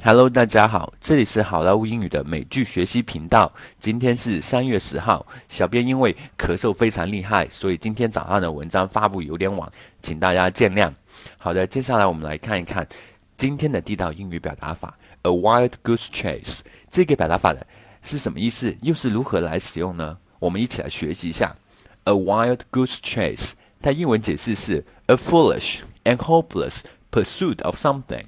Hello，大家好，这里是好莱坞英语的美剧学习频道。今天是3月10号，小编因为咳嗽非常厉害，所以今天早上的文章发布有点晚，请大家见谅。好的，接下来我们来看一看今天的地道英语表达法 A wild goose chase。这个表达法的是什么意思？又是如何来使用呢？我们一起来学习一下。A wild goose chase， 它英文解释是 A foolish and hopeless pursuit of something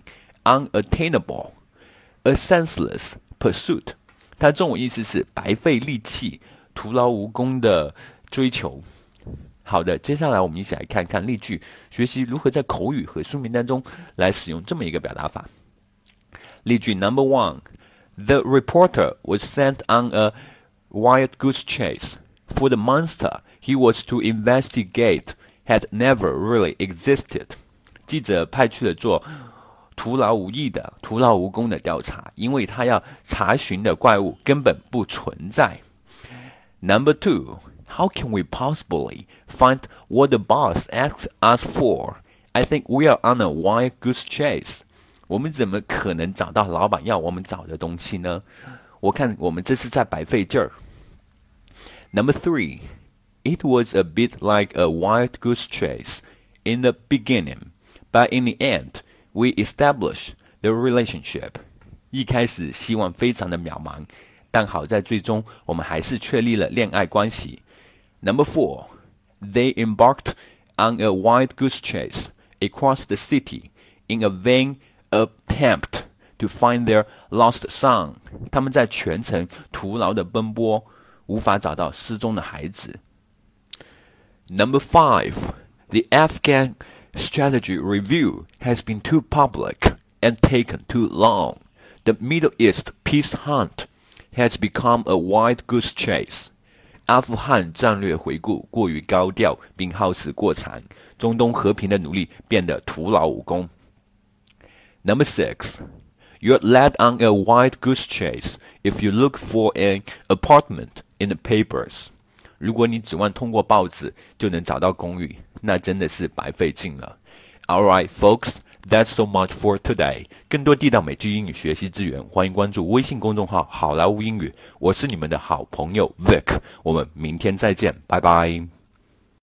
unattainable。A senseless pursuit， 它中文意思是白费力气、徒劳无功的追求。好的，接下来我们一起来看看例句，学习如何在口语和书名当中来使用这么一个表达法。例句 Number 1 The reporter was sent on a wild goose chase, for the monster he was to investigate had never really existed. 记者派去了做徒劳无益的、徒劳无功的调查，因为他要查询的怪物根本不存在。Number 2, how can we possibly find what the boss asked us for? I think we are on a wild goose chase. 我们怎么可能找到老板要我们找的东西呢？我看我们这是在白费劲儿。Number 3, it was a bit like a wild goose chase in the beginning, but in the end,We establish the relationship. 一开始希望非常的渺茫，但好在最终我们还是确立了恋爱关系。Number 4, they embarked on a wild goose chase across the city in a vain attempt to find their lost son. 他们在全城徒劳的奔波，无法找到失踪的孩子。Number 5, the Afghan strategy review has been too public and taken too long. The Middle East peace hunt has become a wild goose chase. 阿富汗战略回顾过于高调并耗时过长，中东和平的努力变得徒劳无功。Number 6, you're led on a wild goose chase if you look for an apartment in the papers. 如果你指望通过报纸就能找到公寓，那真的是白费劲了。Alright, folks, that's so much for today. 更多地道美剧英语学习资源，欢迎关注微信公众号好莱坞英语。我是你们的好朋友 Vic， 我们明天再见，拜拜。